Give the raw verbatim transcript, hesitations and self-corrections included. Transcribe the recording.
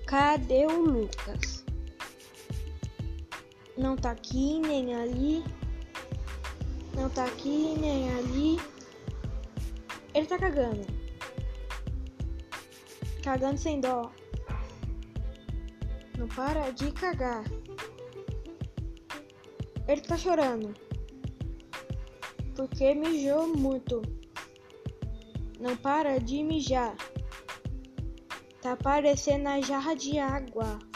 Cadê o Lucas? Não tá aqui nem ali. Não tá aqui nem ali. Ele tá cagando. Cagando sem dó. Não para de cagar. Ele tá chorando. Porque mijou muito. Não para de mijar. Tá parecendo a jarra de água.